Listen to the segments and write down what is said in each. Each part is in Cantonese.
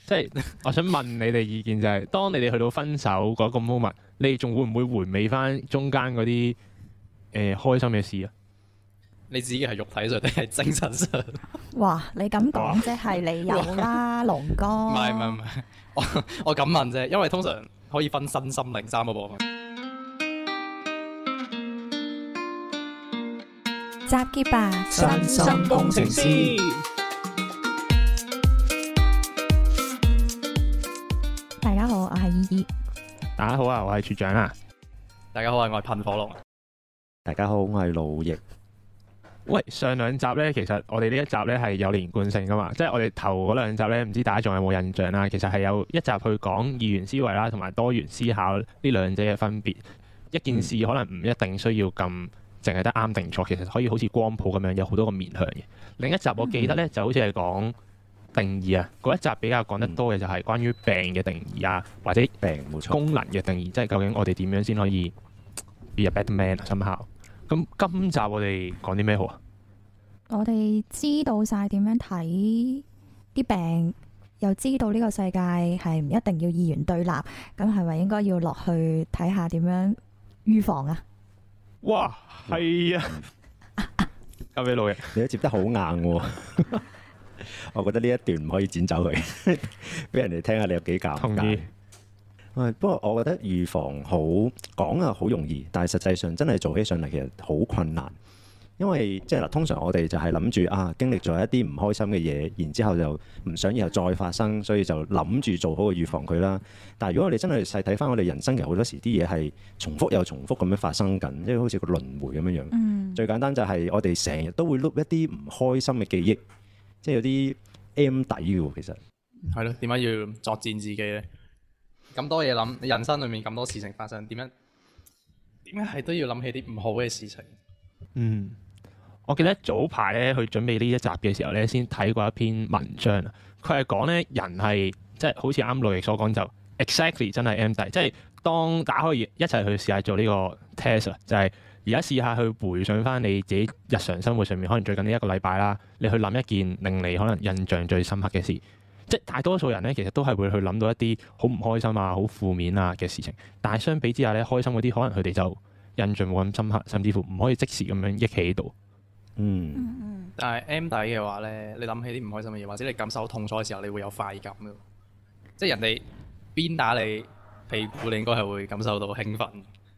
即係我想問你哋意見就係，當你哋去到分手嗰個 moment，你哋仲會唔會回味翻中間嗰啲開心嘅事啊？ 你自己係肉體上定係精神上？ 哇！你咁講即係你有啦，龍哥。 唔係，我咁問啫，因為通常可以分身心靈3個部分。 集結吧， 身心工程師。 大家好，我係依依。 大家好啊，我係處長啊。 大家好啊，我係噴火龍。 大家好，我係路易。 喂，上兩集咧，其實我哋呢一集咧係有連貫性噶嘛，即係我哋頭嗰兩集咧，唔知大家仲有冇印象啦？其實係有一集去講二元思維啦，同埋多元思考呢兩者嘅分別。一件事可能唔一定需要咁淨係得啱定錯，其實可以好似光譜咁樣有好多個面向嘅。另一集我記得咧就好似係講定義啊，嗰一集比較講得多嘅就係關於病嘅定義啊，或者病冇錯功能嘅定義，即係究竟我哋點樣先可以 be a better man 啊？somehow。咁今集我哋講啲咩好啊？ 我哋知道晒點樣睇啲病，又知道呢個世界係唔一定要二元對立，咁係咪應該要落去睇下點樣預防啊？ 哇，係啊！交俾老爺， 你都接得好硬喎。我覺得呢一段唔可以剪走佢，俾人哋聽下你有幾尷尬。 同意。 不過我覺得預防好講啊，好容易，但係實際上真係做起上嚟其實好困難。因為即係通常我哋就係諗住經歷咗一啲唔開心嘅嘢，然之後就唔想以後再發生，所以就諗住做好個預防佢啦。但係如果我哋真係細睇翻我哋人生，其實好多時啲嘢係重複又重複咁樣發生緊，即係好似個輪迴咁樣樣。最簡單就係我哋成日都會碌一啲唔開心嘅記憶，即係有啲 M 底嘅喎，其實係咯，點解要作戰自己咧？咁多嘢諗，人生裏面咁多事情發生，點解係都要諗起啲唔好嘅事情？ 我記得早排咧去準備呢一集嘅時候咧，先睇過一篇文章啊。佢係講咧人係即係好似啱路易所講就 exactly 真係 M 底，即係當大家可以一齊去試下做呢個 test 啊，就係而家試下去回想翻你自己日常生活上面，可能最近呢一個禮拜啦，你去諗一件令你可能印象最深刻嘅事。即係大多數人咧，其實都係會去諗到一啲好唔開心啊、好負面啊嘅事情。但係相比之下咧，開心嗰啲可能佢哋就印象冇咁深刻，甚至乎唔可以即時咁樣憶起到。 但係 M 底嘅話咧，你諗起啲唔開心嘅嘢，或者你感受痛楚嘅時候，你會有快感嘅。即係人哋鞭打你屁股，你應該係會感受到興奮。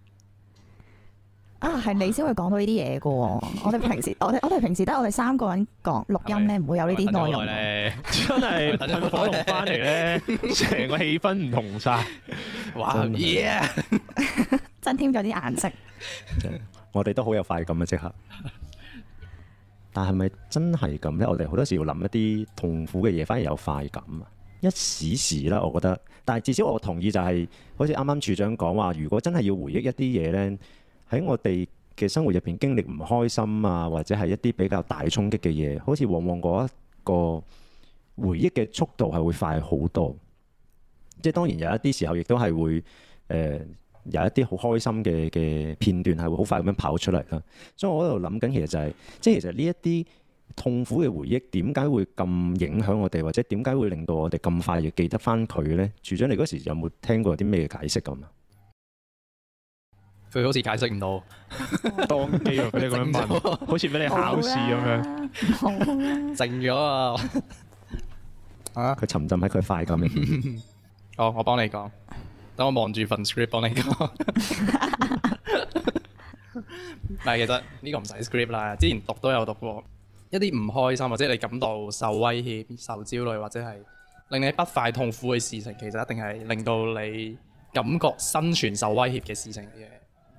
係你先會講到呢啲嘢嘅喎。我哋平時我哋平時得我哋3個人講錄音咧，唔會有呢啲內容咧。 真係噴火龍翻嚟咧，成個氣氛唔同晒。 哇耶！ 增添咗啲顏色。 我哋都好有快感嘅即刻。但係咪真係咁咧？我哋好多時要諗一啲痛苦嘅嘢，反而有快感啊！一時時啦，我覺得。但係至少我同意就係，好似啱啱處長講話，如果真係要回憶一啲嘢咧，喺我哋嘅生活入邊經歷唔開心啊，或者係一啲比較大衝擊嘅嘢，好似往往嗰一個回憶嘅速度係會快好多。即係當然有一啲時候亦都係會有一啲好開心嘅片段係會好快咁樣跑出嚟啦。所以我喺度諗緊，其實就係即係其實呢一啲痛苦嘅回憶點解會咁影響我哋，或者點解會令到我哋咁快就記得翻佢咧？處長，你嗰時有冇聽過啲咩解釋咁啊？ 佢好似解釋唔到， 當機俾你咁樣問，好似俾你考試咁樣。 好啦， 靜咗啊！ 佢沉浸喺佢快感入面。 好，我幫你講。等我望住份 script 幫你講。但係其實呢個唔使 script 啦，之前讀都有讀過。一啲唔開心或者你感到受威脅、受焦慮或者係令你不快痛苦嘅事情，其實一定係令到你感覺生存受威脅嘅事情嚟嘅。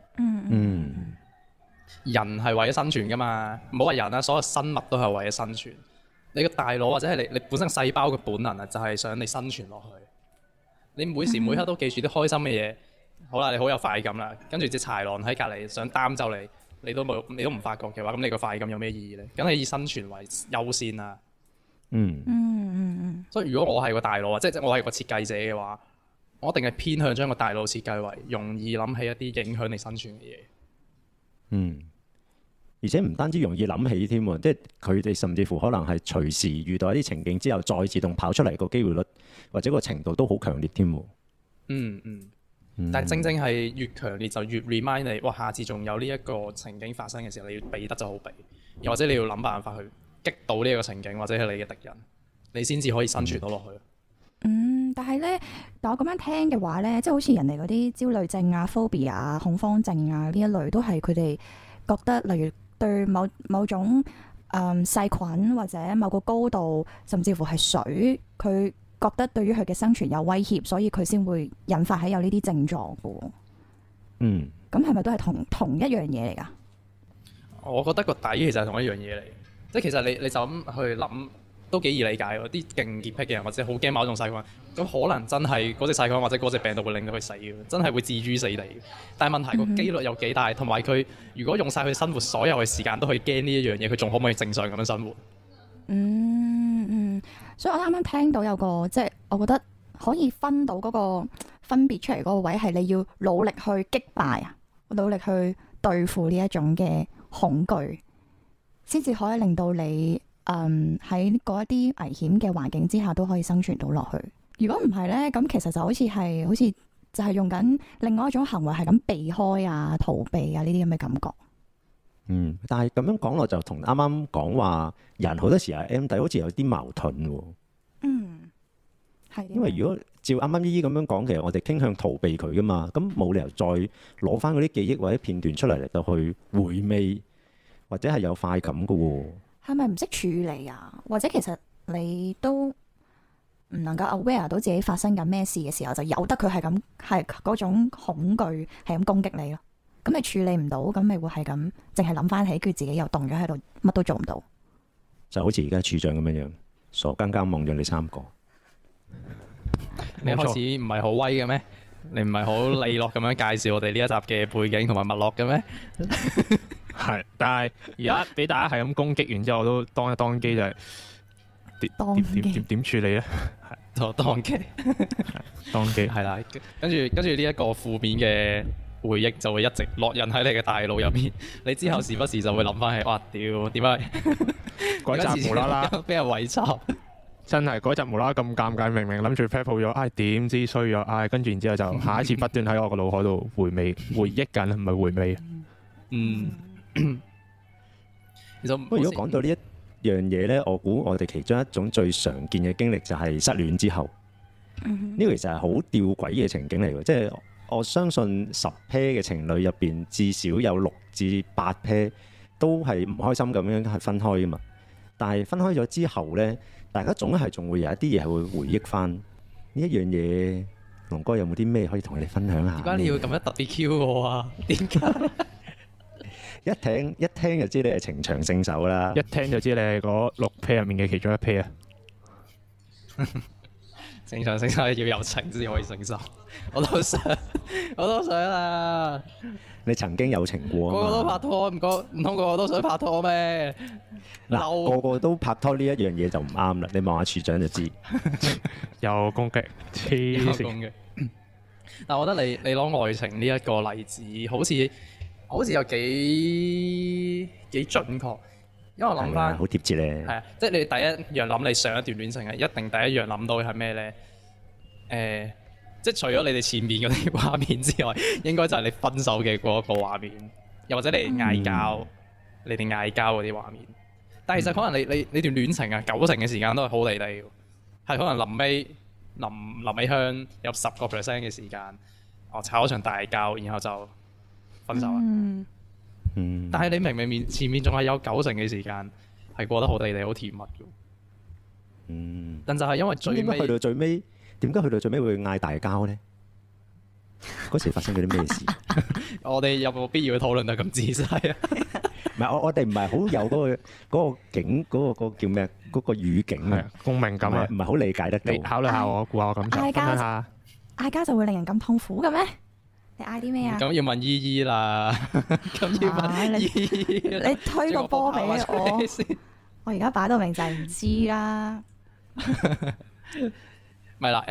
人係為咗生存噶嘛，唔好話人啦，所有生物都係為咗生存。你個大腦或者係你本身細胞嘅本能啊，就係想你生存落去。你每時每刻都記住啲開心嘅嘢，好啦，你好有快感啦。跟住隻豺狼喺隔離想擔走你，你都唔發覺嘅話，咁你個快感有咩意義咧？梗係以生存為優先啦。所以如果我係個大腦啊，即係我係個設計者嘅話，我一定係偏向將個大腦設計為容易諗起一啲影響你生存嘅嘢。 而且唔單止容易諗起添喎，即係佢哋甚至乎可能係隨時遇到一啲情景之後，再自動跑出嚟個機會率或者個程度都好強烈添喎。 但係正正係越強烈就越 remind 你，哇！下次仲有呢一個情景發生嘅時候，你要避得就好避，又或者你要諗辦法去擊倒呢一個情景，或者係你嘅敵人，你先至可以生存到落去。 但係咧，但我咁樣聽嘅話咧，即係好似人哋嗰啲焦慮症啊、phobia 啊、恐慌症啊呢一類，都係佢哋覺得，例如對某種細菌或者某個高度，甚至乎係水，佢覺得對於佢嘅生存有威脅，所以佢先會引發起有呢啲症狀嘅。咁係咪都係同一樣嘢嚟㗎？我覺得個底其實係同一樣嘢嚟，即係其實你就咁去諗。都幾易理解喎！啲勁潔癖嘅人或者好驚某種細菌，咁可能真係嗰隻細菌或者嗰隻病毒會令到佢死嘅，真係會置諸死地。但係問題個機率有幾大，同埋佢如果用晒佢生活所有嘅時間都去驚呢一樣嘢，佢仲可唔可以正常咁樣生活？ 所以我啱啱聽到有個即係，我覺得可以分到嗰個分別出嚟嗰個位係你要努力去擊敗啊，努力去對付呢一種嘅恐懼，先至可以令到你。喺嗰一啲危險嘅環境之下都可以生存到落去。如果唔係呢，咁其實就好似就係用緊另外一種行為，係咁避開啊、逃避啊呢啲咁嘅感覺。 但係咁樣講落就同啱啱講話人好多時係 M 底，好似有啲矛盾喎。 係。 因為如果照啱啱依依咁樣講，其實我哋傾向逃避佢噶嘛，咁冇理由再攞翻嗰啲記憶或者片段出嚟到去回味，或者係有快感噶喎。 係咪唔識處理啊？或者其實你都唔能夠 aware 到自己發生緊咩事嘅時候，就由得佢係咁，係嗰種恐懼係咁攻擊你咯。咁你處理唔到，咁咪會係咁，淨係諗翻起，佢自己又凍咗喺度，乜都做唔到。就好似而家處長咁樣樣，傻更更望咗你3個。 你開始唔係好威嘅咩？你唔係好利落咁樣介紹我哋呢一集嘅背景同埋脈絡嘅咩？ 係，但係而家俾大家係咁攻擊完之後，我都當一當機就係點處理咧？係當機， 當機係啦。跟住呢一個負面嘅回憶就會一直烙印喺你嘅大腦入面。你之後時不時就會諗翻起，哇屌，點解嗰集無啦啦俾人圍插？ 真係嗰集無啦啦咁尷尬，明明諗住 prep 好咗，點知衰咗，跟住然之後就下一次不斷喺我個腦海度回憶緊，唔係回味。 不過如果講到呢一樣嘢呢，我估我哋其中一種最常見嘅經歷就係失戀之後。呢個其實係好吊詭嘅情景嚟嘅，即係我相信10 pair 嘅情侶入邊至少有6至8 pair 都係唔開心咁樣係分開噶嘛。但係分開咗之後呢，大家總係仲會有一啲嘢係會回憶翻呢一樣嘢。龍哥有冇啲咩可以同你哋分享下？ 點解你要咁樣特別 Q 我啊？點解？ 一聽就知你係情場勝手啦！ 一聽就知你係嗰6 pair 入面嘅其中1 pair 啊！ 情場勝手要有情先可以勝受，我都想啊！ 你曾經有情過啊嘛？ 個個都拍拖，唔通個個都想拍拖咩？ 嗱，個個都拍拖呢一樣嘢就唔啱啦！你望下處長就知， 有攻擊，黐線。 但我覺得你攞愛情呢一個例子，好似有幾準確，因為我諗翻好貼切咧。 係啊，即係你第一樣諗你上一段戀情係一定第一樣諗到係咩咧？即係除咗你哋前面嗰啲畫面之外，應該就係你分手嘅嗰個畫面，又或者你哋嗌交，你哋嗌交嗰啲畫面。但係其實可能你段戀情啊，90成嘅時間都係好地地，係可能臨尾香有10% 嘅時間，吵咗場大交，然後就分手啦。但係你明明前面仲係有90成嘅時間係過得好地地、好甜蜜嘅。但就係因為最尾去到最尾，點解去到最尾會嗌大交咧？嗰時發生咗啲咩事？ 我哋有冇必要去討論得咁仔細啊？ 唔係我哋唔係好有嗰個景嗰個叫咩？嗰個語境啊， 共鳴感啊， 唔係好理解得到。 你考慮下我，估下我感受，分享下。 嗌交就會令人咁痛苦嘅咩？你嗌啲咩啊？ 咁要問依依啦，咁要問依依。 你推個波俾我，我而家擺到明就係唔知啦。 咪啦，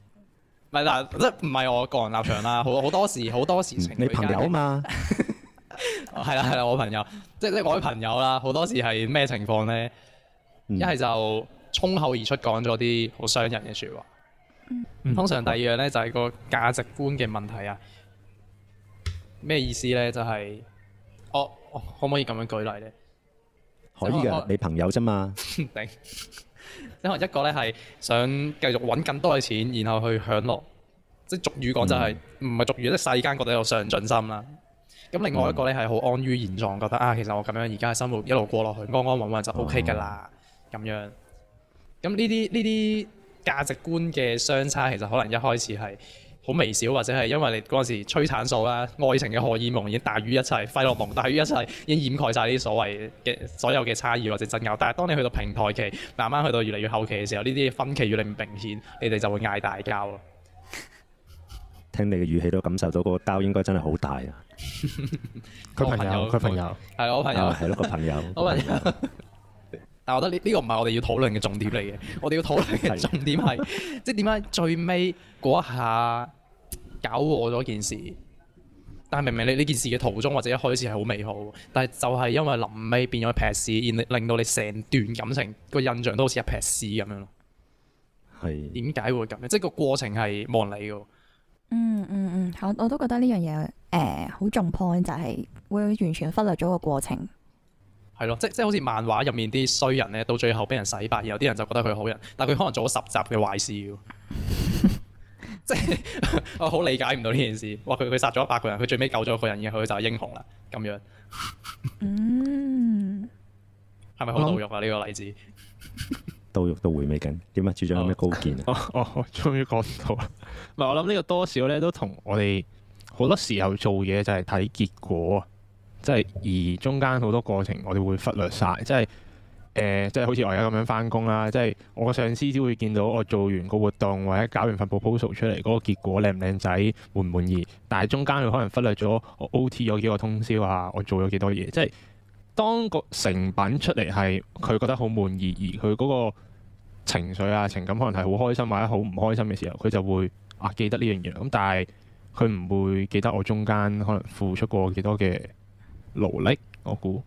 咪嗱，即係唔係我個人立場啦。好多時情侶你朋友啊嘛， 係啦，我朋友，即係我啲朋友啦，好多時係咩情況咧？一係就衝口而出講咗啲好傷人嘅説話。通常第二樣咧就係個價值觀嘅問題啊。咩意思咧？就係我可唔可以咁樣舉例咧？ 可以㗎，你朋友啫嘛。 頂。因為一個咧係想繼續揾更多嘅錢，然後去享樂，即係俗語講就係唔係俗語，即係世間覺得有上進心啦。咁另外一個咧係好安於現狀，覺得啊，其實我咁樣而家嘅生活一路過落去，安安穩穩就 OK 㗎啦。咁樣，咁呢啲價值觀嘅相差，其實可能一開始係好微小，或者係因為你嗰陣時催產素啦、愛情嘅荷爾蒙已經大於一切，費洛蒙大於一切，已經掩蓋晒呢啲所有嘅差異或者爭拗。但係當你去到平台期，慢慢去到越嚟越後期嘅時候，呢啲分歧越嚟越明顯，你哋就會嗌大交咯。 聽你嘅語氣都感受到嗰個交應該真係好大啊！ 佢朋友係我朋友， 係咯個朋友。 我朋友。但我覺得呢個唔係我哋要討論嘅重點嚟嘅，我哋要討論嘅重點係，即係點解最尾嗰一下搞禍咗件事，但係明明你呢件事嘅途中或者一開始係好美好，但係就係因為臨尾變咗一撇屎，而令到你成段感情個印象都好似一撇屎咁樣咯。係點解會咁樣？即係個過程係冇人理嘅。 我都覺得呢樣嘢好重 point，就係會完全忽略咗個過程。 係咯，即係好似漫畫入面啲衰人咧，到最後俾人洗白，然後啲人就覺得佢好人，但係佢可能做咗10集嘅壞事嘅。即係我好理解唔到呢件事。哇！佢殺咗100個人，佢最尾救咗一個人，然後佢就係英雄啦。咁樣，係咪好侮辱啊？呢個例子到肉到回味緊。點啊？處長有咩高見啊？ 我終於講到啦。唔係，我諗呢個多少咧都同我哋好多時候做嘢就係睇結果。即係而中間好多過程，我哋會忽略晒。即係即係好似我而家咁樣翻工啦。即係我個上司只會見到我做完個活動或者搞完份 proposal 出嚟嗰個結果靚唔靚仔，滿唔滿意。但係中間佢可能忽略咗我 OT 咗幾個通宵啊，我做咗幾多嘢。即係當個成品出嚟係佢覺得好滿意，而佢嗰個情緒啊情感可能係好開心或者好唔開心嘅時候，佢就會記得呢樣嘢。咁但係佢唔會記得我中間可能付出過幾多嘅勞力，我估。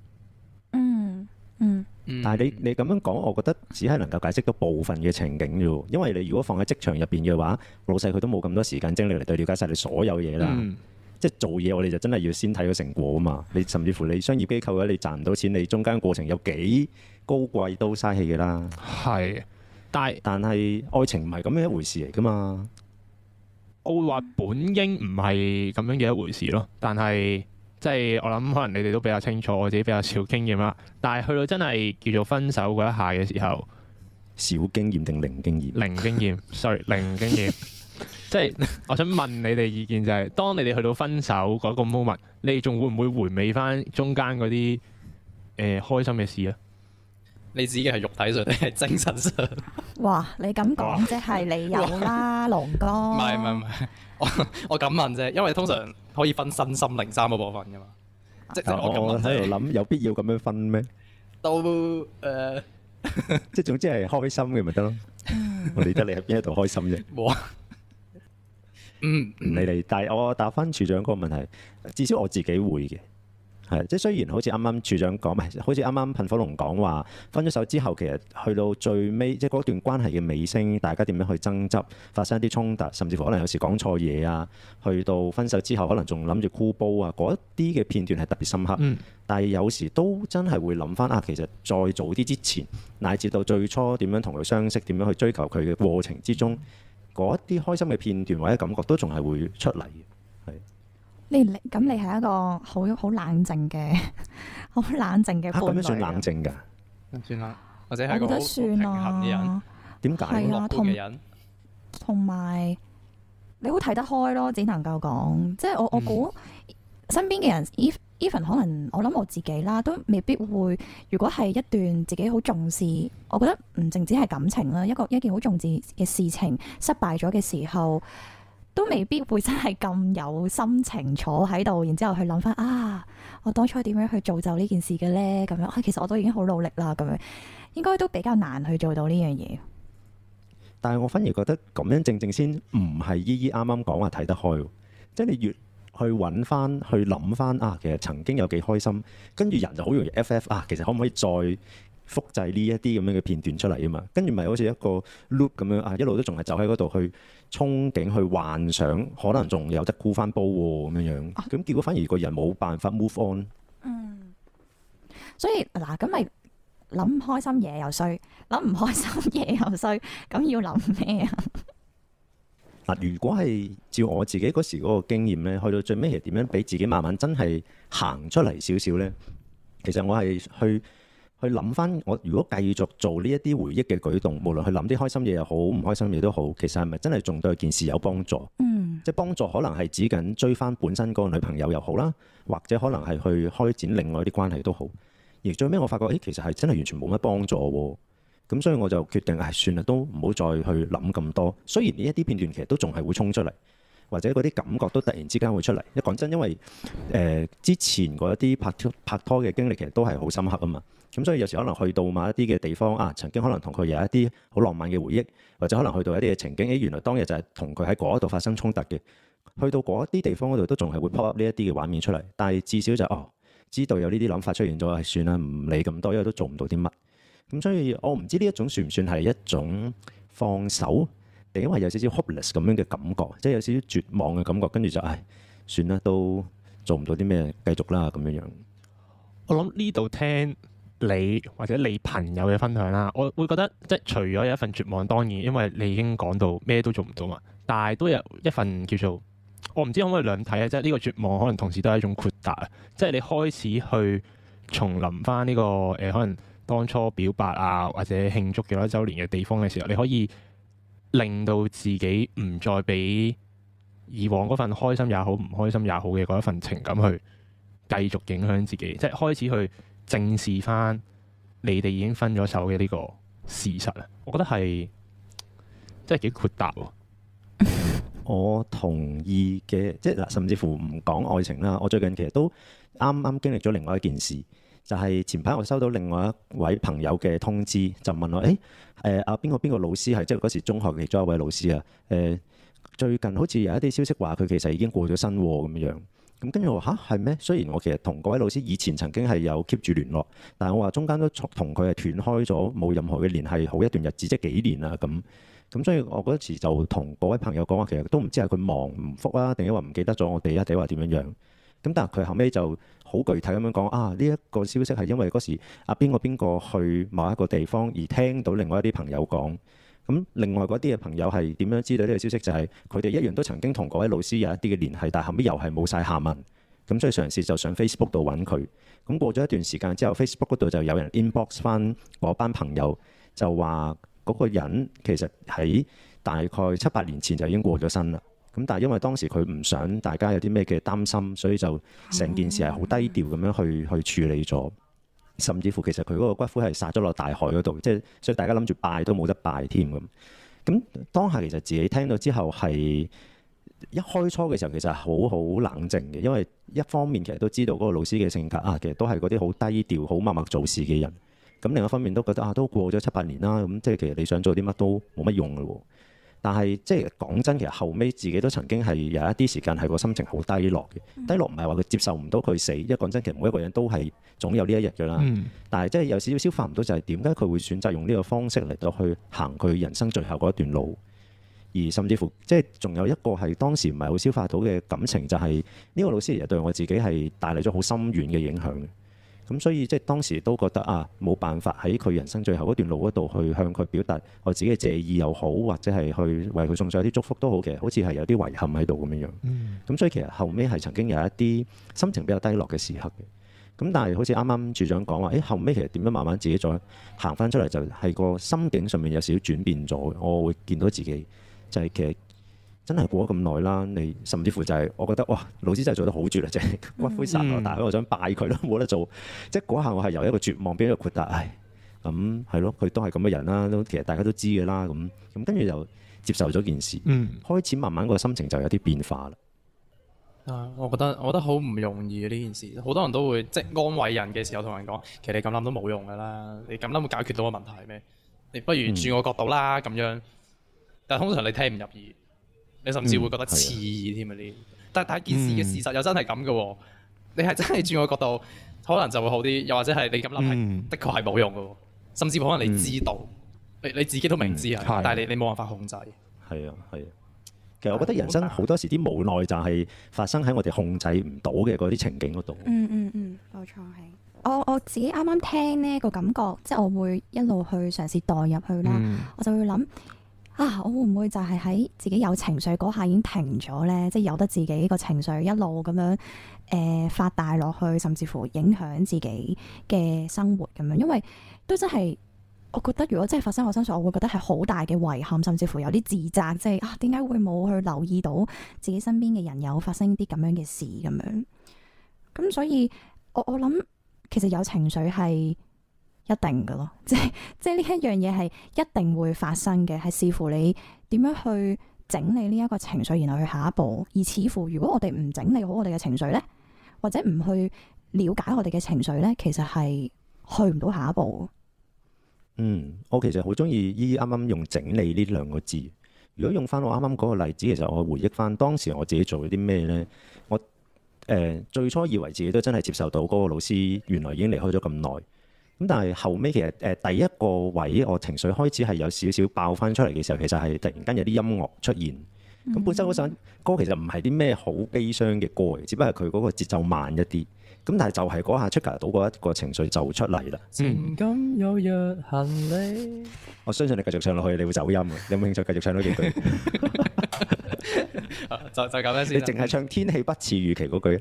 但係你咁樣講，我覺得只係能夠解釋到部分嘅情景啫。因為你如果放喺職場入邊嘅話，老細佢都冇咁多時間精力嚟對了解晒你所有嘢啦。即係做嘢，我哋就真係要先睇個成果啊嘛。你甚至乎你商業機構嘅話，你賺唔到錢，你中間過程有幾高貴都嘥氣嘅啦。係，但係愛情唔係咁樣一回事嚟噶嘛。 我會話本應唔係咁樣嘅一回事咯，但係。即係我諗，可能你哋都比較清楚，我自己比較少經驗啦。但係去到真係叫做分手嗰一下嘅時候， 少經驗定零經驗？ 零經驗，sorry， 零經驗。即係我想問你哋意見就係，當你哋去到分手嗰個 moment，你哋仲會唔會回味翻中間嗰啲開心嘅事啊？ 你指嘅係肉體上定係精神上？ 哇！你咁講即係你有啦，龍哥。 唔係，我咁問啫，因為通常可以分身心靈3個部分噶嘛。即係我喺度諗，有必要咁樣分咩？ 都即係總之係開心嘅咪得咯。我理得你喺邊一度開心啫。 冇啊。 唔理你，但係我答翻處長嗰個問題，至少我自己會嘅。係，即係雖然好似啱啱處長講，唔係好似啱啱噴火龍講話，分咗手之後，其實去到最尾，即係嗰段關係嘅尾聲，大家點樣去爭執，發生一啲衝突，甚至乎可能有時講錯嘢啊，去到分手之後，可能仲諗住箍煲啊，嗰一啲嘅片段係特別深刻。但係有時都真係會諗翻其實再早啲之前，乃至到最初點樣同佢相識，點樣去追求佢嘅過程之中，嗰一啲開心嘅片段或者感覺都仲係會出嚟嘅，係。你係一個好冷靜嘅、好冷靜嘅伴侶。咁樣算冷靜㗎？ 算啦，或者係一個好平衡嘅人。 點解？ 係啊，同埋你好睇得開咯，只能夠講。即係我估身邊嘅人，even 可能我諗我自己啦，都未必會。如果係一段自己好重視，我覺得唔淨止係感情啦，一件好重視嘅事情失敗咗嘅時候。都未必會真係咁有心情坐喺度，然之後去諗翻我當初點樣去造就呢件事嘅呢？咁樣其實我都已經好努力啦，咁樣應該都比較難去做到呢樣嘢。但係我反而覺得咁樣正正先唔係依依啱啱講話睇得開，即係你越去揾翻去諗翻啊，其實曾經有幾開心，跟住人就好容易 FF 啊，其實可唔可以再複製呢一啲咁樣嘅片段出嚟啊嘛？跟住咪好似一個 loop 咁樣啊，一路都仲係走喺嗰度去憧憬、去幻想，可能仲有得沽翻煲喎咁樣樣。咁結果反而個人冇辦法 move on。 所以嗱，咁咪諗開心嘢又衰，諗唔開心嘢又衰，咁要諗咩啊？ 嗱，如果係照我自己嗰時嗰個經驗咧，去到最尾係點樣俾自己慢慢真係行出嚟少少咧？其實我係去諗翻，我如果繼續做呢一啲回憶嘅舉動，無論去諗啲開心嘢又好，唔開心嘢都好，其實係咪真係仲對件事有幫助？即係幫助可能係指緊追翻本身嗰個女朋友又好啦，或者可能係去開展另外一啲關係都好。而最尾我發覺，其實係真係完全冇乜幫助喎。咁所以我就決定，算啦，都唔好再去諗咁多。雖然呢一啲片段其實都仲係會衝出嚟，或者嗰啲感覺都突然之間會出嚟。講真，因為之前嗰一啲拍拖嘅經歷其實都係好深刻啊嘛。咁所以有時可能去到某一啲嘅地方啊，曾經可能同佢有一啲好浪漫嘅回憶，或者可能去到一啲嘅情景，原來當日就係同佢喺嗰度發生衝突嘅。去到嗰一啲地方嗰度都仲係會 pop up 呢一啲嘅畫面出嚟。但係至少就知道有呢啲諗法出現咗，算啦，唔理咁多，因為都做唔到啲乜。咁所以我唔知呢一種算唔算係一種放手，定因為有少少 hopeless 咁樣嘅感覺，即係有少少絕望嘅感覺，跟住就算啦，都做唔到啲咩，繼續啦咁樣樣。 我諗呢度聽你或者你朋友嘅分享啦，我會覺得即係除咗有一份絕望，當然因為你已經講到咩都做唔到嘛，但係都有一份叫做我唔知可唔可以兩睇啊，即係呢個絕望可能同時都係一種豁達啊，即係你開始去重臨翻呢個可能當初表白啊，或者慶祝幾多週年嘅地方嘅時候，你可以令到自己唔再俾以往嗰份開心也好、唔開心也好嘅嗰一份情感去繼續影響自己，即係開始去正視翻你哋已經分咗手嘅呢個事實啊！我覺得係真係幾豁達喎。 我同意嘅，即係嗱，甚至乎唔講愛情啦。我最近其實都啱啱經歷咗另外一件事。就係前排我收到另外一位朋友嘅通知，就問我：阿邊個老師係即係嗰時中學嘅其中一位老師啊？最近好似有一啲消息話佢其實已經過咗身咁樣。咁跟住我話係咩？雖然我其實同嗰位老師以前曾經係有 keep 住聯絡，但係我話中間都同佢係斷開咗，冇任何嘅聯繫，好一段日子，即係幾年啦咁。咁所以我嗰時就同嗰位朋友講話，其實都唔知係佢忙唔覆啊，定係話唔記得咗我哋啊，定係話點樣樣？咁但係佢後尾就好具體咁樣講呢一個消息係因為嗰時邊個去某一個地方而聽到另外一啲朋友講，咁另外嗰啲嘅朋友係點樣知道呢個消息？就係佢哋一樣都曾經同嗰位老師有一啲嘅聯繫，但係後尾又係冇晒下文，咁所以嘗試就上 Facebook 度揾佢。咁過咗一段時間之後，Facebook 嗰度就有人 inbox 翻嗰班朋友，就話嗰個人其實喺大概7-8年前就已經過咗身啦。咁但係因為當時佢唔想大家有啲咩嘅擔心，所以就成件事係好低調咁樣去處理咗，甚至乎其實佢嗰個骨灰係撒咗落大海嗰度，即係所以大家諗住拜都冇得拜添咁。咁當下其實自己聽到之後係一開初嘅時候其實係好冷靜嘅，因為一方面其實都知道嗰個老師嘅性格其實都係嗰啲好低調、好默默做事嘅人。咁另一方面都覺得都過咗7-8年啦，咁即係其實你想做啲乜都冇乜用㗎喎。但係即係講真，其實後尾自己都曾經係有一啲時間係個心情好低落嘅。低落唔係話佢接受唔到佢死，因為講真，其實每一個人都係總有呢一日㗎啦。但係即係有少少消化唔到，就係點解佢會選擇用呢個方式嚟到去行佢人生最後嗰一段路，而甚至乎即係仲有一個係當時唔係好消化到嘅感情，就係呢個老師其實對我自己係帶嚟咗好深遠嘅影響。咁所以即係當時都覺得冇辦法喺佢人生最後嗰段路嗰度去向佢表達我自己嘅謝意又好，或者係去為佢送上一啲祝福都好嘅，好似係有啲遺憾喺度咁樣樣。咁所以其實後尾係曾經有一啲心情比較低落嘅時刻嘅。咁但係好似啱啱處長講話，後尾其實點樣慢慢自己再行翻出嚟，就係個心境上面有少少轉變咗。我會見到自己就係其實真係過咗咁耐啦，你甚至乎就係我覺得哇，老師真係做得好絕啦，即係骨灰撒落大海，我想拜佢都冇得做。即係嗰下我係由一個絕望變咗一個豁達，咁係咯，佢都係咁嘅人啦，都其實大家都知嘅啦，咁跟住就接受咗件事，開始慢慢個心情就有啲變化啦。 我覺得好唔容易嘅呢件事，好多人都會即係安慰人嘅時候同人講，其實你咁諗都冇用噶啦，你咁諗會解決到個問題咩？你不如轉個角度啦咁樣。但係通常你聽唔入耳。你甚至會覺得刺耳添啊！呢， 但件事嘅事實又真係咁嘅喎。你係真係轉個角度，可能就會好啲，又或者係你咁諗係的確係冇用嘅喎。甚至乎可能你知道，你自己都明知係，但係你冇辦法控制。 係啊，係啊。其實我覺得人生好多時啲無奈就係發生喺我哋控制唔到嘅嗰啲情景嗰度。 冇錯係。我自己啱啱聽呢個感覺，即係我會一路去嘗試代入去啦。我就會諗啊，我會唔會就係喺自己有情緒嗰下已經停咗咧？即係由得自己個情緒一路咁樣發大落去，甚至乎影響自己嘅生活咁樣。因為都真係。我覺得如果真係發生我身上，我會覺得係好大嘅遺憾，甚至乎有啲自責，即係啊，點解會冇去留意到自己身邊嘅人有發生啲咁樣嘅事咁樣？咁所以我諗其實有情緒係一定㗎咯，即係呢一樣嘢係一定會發生嘅，係視乎你點樣去整理呢一個情緒，然後去下一步。而似乎如果我哋唔整理好我哋嘅情緒呢，或者唔去了解我哋嘅情緒呢，其實係去唔到下一步。 我其實好中意依啱啱用整理呢兩個字。如果用翻我啱啱嗰個例子，其實我回憶翻當時我自己做咗啲咩呢？我最初以為自己都真係接受到嗰個老師原來已經離開咗咁耐。咁但係後尾其實第一個位我情緒開始係有少少爆翻出嚟嘅時候，其實係突然間有啲音樂出現。咁本身嗰首歌其實唔係啲咩好悲傷嘅歌，只不過係佢嗰個節奏慢一啲。咁但係就係嗰下出到嗰一個情緒就出嚟啦。 情感有若行李， 我相信你繼續唱落去，你會走音嘅。你有冇興趣繼續唱多幾句？ 就咁樣先。 你淨係唱天氣不似預期嗰句。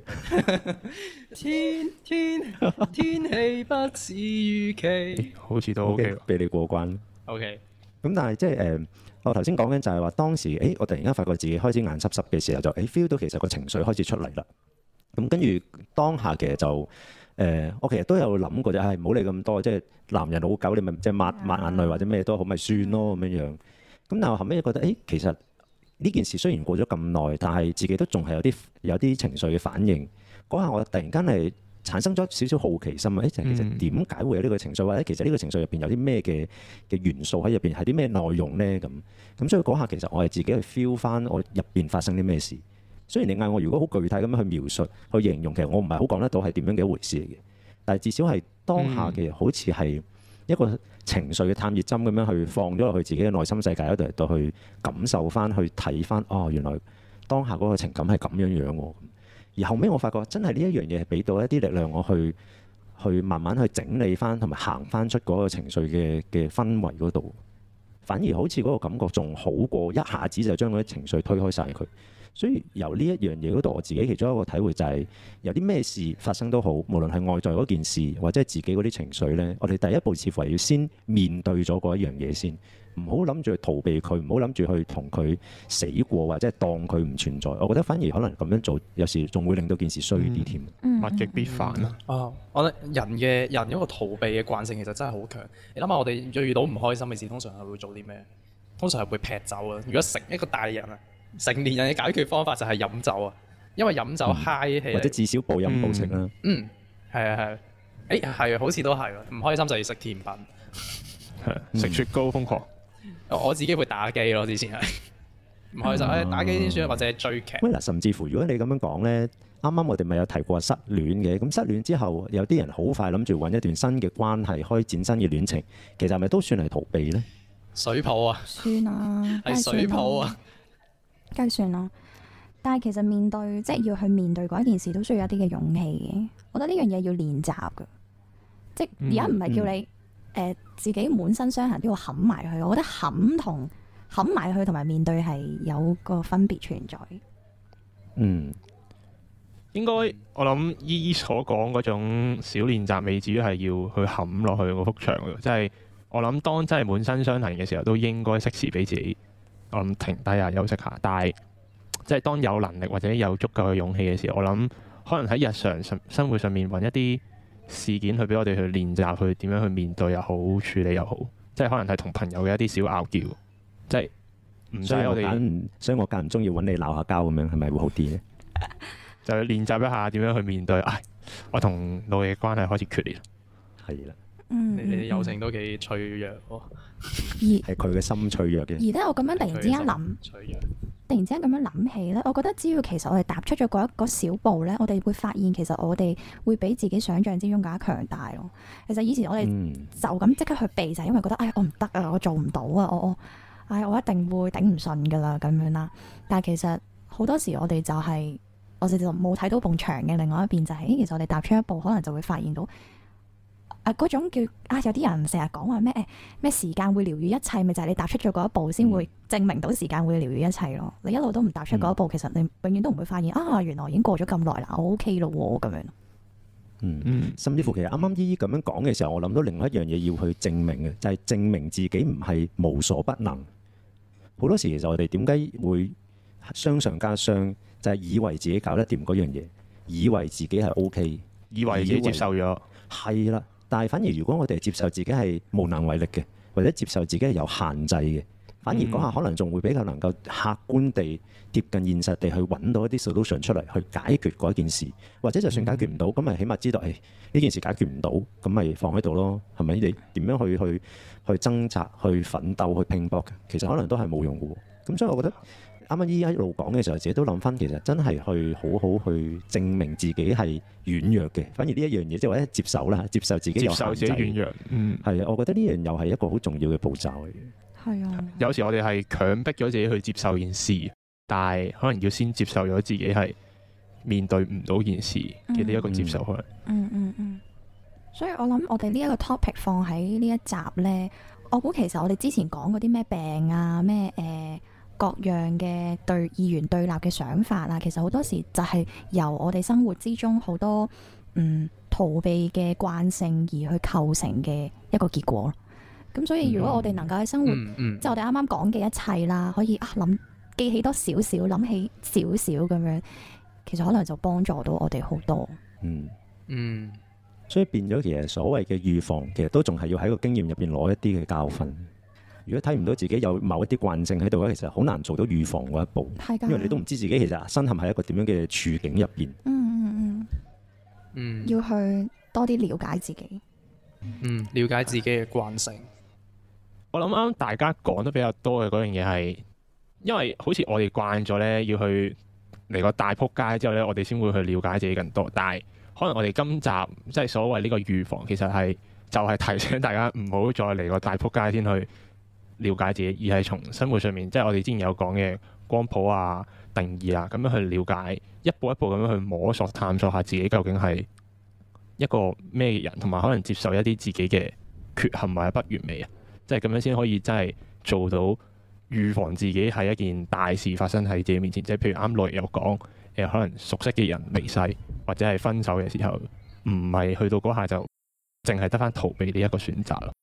天氣不似預期， 好似都 OK， 俾你過關。 OK。 咁但係即係我頭先講緊就係話當時，我突然間發覺自己開始眼濕濕嘅時候，就feel 到其實個情緒開始出嚟啦。咁跟住當下其實就我其實都有諗過就係唔好理咁多，即係男人老狗，你咪即係抹眼淚或者咩都好，咪算咯咁樣樣。咁但係後尾覺得其實呢件事雖然過咗咁耐，但係自己都仲係有啲情緒嘅反應。嗰下我突然間係產生咗少少好奇心啊！就其實點解會有呢個情緒，或者其實呢個情緒入邊有啲咩嘅元素喺入邊，係啲咩內容咧？咁所以嗰下其實我係自己去 feel 翻我入邊發生啲咩事。雖然你嗌我如果好具體咁樣去描述、去形容，其實我唔係好講得到係點樣嘅一回事嚟嘅。但係至少係當下嘅，好似係一個情緒嘅探熱針咁樣去放咗落去自己嘅內心世界嗰度，嚟到去感受翻、去睇翻。哦，原來當下嗰個情感係咁樣樣喎。而後尾我發覺真係呢一樣嘢係俾到一啲力量我去慢慢去整理翻，同埋行翻出嗰個情緒嘅氛圍嗰度。反而好似嗰個感覺仲好過一下子就將嗰啲情緒推開晒佢。所以由呢一樣嘢嗰度，我自己其中一個體會就係有啲咩事發生都好，無論係外在嗰件事或者係自己嗰啲情緒呢，我哋第一步似乎係要先面對咗嗰一樣嘢先，唔好諗住去逃避佢，唔好諗住去同佢死過或者係當佢唔存在。我覺得反而可能咁樣做，有時仲會令到件事衰啲添。 物極必反啊！ 我覺得人嗰個逃避嘅慣性其實真係好強。你諗下，我哋遇到唔開心嘅事，通常係會做啲咩？通常係會劈酒啊！如果成一個大人啊，成年人嘅解決方法就係飲酒啊，因為飲酒嗨起，或者至少暴飲暴食啦。 係啊係，係啊，好似都係喎。唔開心就要食甜品， 食雪糕瘋狂。 我自己會打機咯，之前係唔開心，打機先算，或者係追劇。 嗱，甚至乎如果你咁樣講咧，啱啱我哋咪有提過失戀嘅，咁失戀之後有啲人好快諗住揾一段新嘅關係，開展新嘅戀情，其實係咪都算係逃避咧？ 水泡啊， 算啊， 係水泡啊。 梗係算啦，但係其實面對即係要去面對嗰一件事，都需要一啲嘅勇氣嘅。我覺得呢樣嘢要練習㗎，即係而家唔係叫你自己滿身傷痕都要冚埋去。我覺得冚埋去同埋面對係有個分別存在。 應該我諗依所講嗰種小練習，未至於係要去冚落去嗰幅牆嗰度。即係我諗當真係滿身傷痕嘅時候，都應該適時俾自己。我諗停低啊，休息下。但係即係當有能力或者有足夠嘅勇氣嘅時候，我諗可能喺日常生活上面揾一啲事件去俾我哋去練習，去點樣去面對又好，處理又好。即係可能係同朋友嘅一啲小拗撬，即係唔使我哋。 所以我間唔中要揾你鬧下交咁樣，係咪會好啲咧？ 就練習一下點樣去面對。我同老爺嘅關係開始決裂。 係啦。 你哋友情都幾脆弱喎， 係佢嘅心脆弱嘅。 而咧，我咁樣突然之間諗， 脆弱突然之間咁樣諗起咧，我覺得只要其實我哋踏出咗嗰一個小步咧，我哋會發現其實我哋會比自己想象之中更加強大咯。其實以前我哋就咁即刻去避，就係因為覺得我唔得啊，我做唔到啊，我一定會頂唔順噶啦咁樣啦。但係其實好多時我哋就冇睇到埲牆嘅另外一邊，就係其實我哋踏出一步，可能就會發現到。嗰種叫有啲人成日講話咩時間會療癒一切，咪就係你踏出咗嗰一步先會證明到時間會療癒一切咯。你一路都唔踏出嗰一步，其實你永遠都唔會發現原來已經過咗咁耐啦，我 OK 咯咁樣。 甚至乎其實啱啱姨姨咁樣講嘅時候，我諗到另外一樣嘢要去證明嘅，就係證明自己唔係無所不能。好多時其實我哋點解會傷上加傷，就係以為自己搞得掂嗰樣嘢，以為自己係 OK， 以為自己接受咗，係啦。但係反而如果我哋接受自己係無能為力嘅，或者接受自己係有限制嘅，反而嗰下可能仲會比較能夠客觀地貼近現實地去揾到一啲 solution 出嚟去解決嗰一件事，或者就算解決唔到，咁咪起碼知道呢件事解決唔到，咁咪放喺度咯，係咪？你點樣去掙扎、去奮鬥、去拼搏嘅，其實可能都係冇用嘅。咁所以我覺得啱啱依家一路講嘅時候，自己都諗翻，其實真係去好好去證明自己係軟弱嘅。反而呢一樣嘢，即係或者接受啦，接受自己有限制，接受自己軟弱。係啊，我覺得呢樣又係一個好重要嘅步驟嚟嘅。係啊，有時我哋係強迫咗自己去接受件事，但係可能要先接受咗自己係面對唔到件事嘅呢一個接受可能。 所以我諗我哋呢一個 topic 放喺呢一集咧，我估其實我哋之前講嗰啲咩病啊，咩各樣嘅二元對立嘅想法啊，其實好多時就係由我哋生活之中好多逃避嘅慣性而去構成嘅一個結果。咁所以如果我哋能夠喺生活，即係我哋啱啱講嘅一切啦，可以記起多少少，諗起少少咁樣，其實可能就幫助到我哋好多。 所以變咗其實所謂嘅預防，其實都仲係要喺個經驗入邊攞一啲嘅教訓。如果睇唔到自己有某一啲慣性喺度咧，其實好難做到預防嗰一步，因為你都唔知自己其實身陷喺一個點樣嘅處境入邊。 要去多啲了解自己。 了解自己嘅慣性。 我諗啱大家講得比較多嘅嗰樣嘢係，因為好似我哋慣咗咧，要去嚟個大撲街之後咧，我哋先會去了解自己更多。但係可能我哋今集即係所謂呢個預防，其實就係提醒大家唔好再嚟個大撲街先去了解自己，而係從生活上面，即係我哋之前有講嘅光譜啊、定義啊，咁樣去了解，一步一步咁樣去摸索、探索下自己究竟係一個咩人，同埋可能接受一啲自己嘅缺陷或者不完美啊，即係咁樣先可以真係做到預防自己係一件大事發生喺自己面前。即係譬如啱落有講，可能熟悉嘅人離世或者係分手嘅時候，唔係去到嗰下就淨係得返逃避呢一個選擇咯。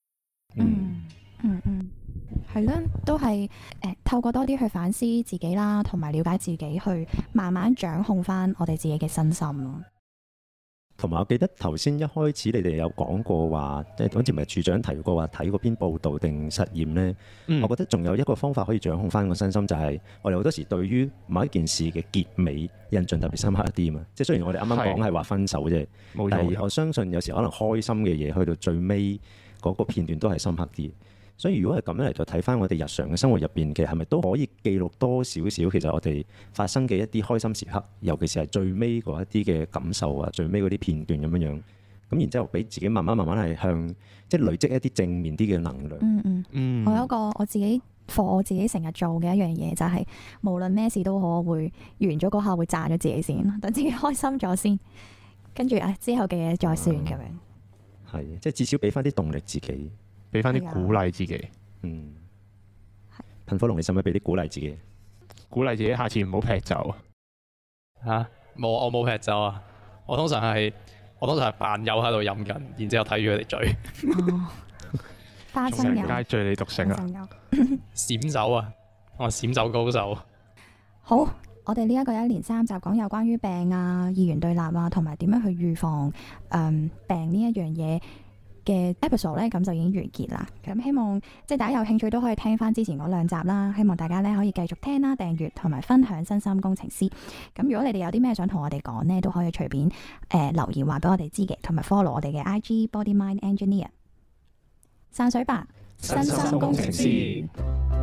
係啦，都係透過多啲去反思自己啦，同埋了解自己，去慢慢掌控翻我哋自己嘅身心咯。 同埋我記得頭先一開始你哋有講過話，即係好似唔係處長提過話睇嗰篇報道定實驗呢？我覺得仲有一個方法可以掌控翻個身心，就係我哋好多時對於某一件事嘅結尾印象特別深刻一啲嘛。即係雖然我哋啱啱講係話分手啫，但係我相信有時可能開心嘅嘢去到最尾嗰個片段都係深刻啲。所以如果係咁樣嚟到睇翻我哋日常嘅生活入邊，其實係咪都可以記錄多少少其實我哋發生嘅一啲開心時刻，尤其是係最尾嗰一啲嘅感受啊，最尾嗰啲片段咁樣樣，咁然之後俾自己慢慢係向即係累積一啲正面啲嘅能量。 我有一個我自己成日做嘅一樣嘢，就係無論咩事都好，我會完咗嗰下會讚咗自己先，等自己開心咗先，跟住之後嘅嘢再算咁樣。 係，即係至少俾翻啲動力自己。 俾翻啲鼓勵自己。 噴火龍，你使唔使俾啲鼓勵自己？ 鼓勵自己下次唔好劈酒啊！冇，我冇劈酒啊！我通常係扮友喺度飲緊，然之後睇住佢哋醉。 花生友， 街醉你獨醒啊！ 閃酒啊！我閃酒高手。 好，我哋呢一個一連三集講有關於病啊、二元對立啊，同埋點樣去預防病呢一樣嘢嘅 episode 咧，咁就已經完結啦。咁希望即係大家有興趣都可以聽翻之前嗰兩集啦。希望大家咧可以繼續聽啦、訂閱同埋分享身心工程師。咁如果你哋有啲咩想同我哋講呢，都可以隨便留言話俾我哋知嘅，同埋 follow 我哋嘅 IG Body Mind Engineer。散水吧，身心工程師。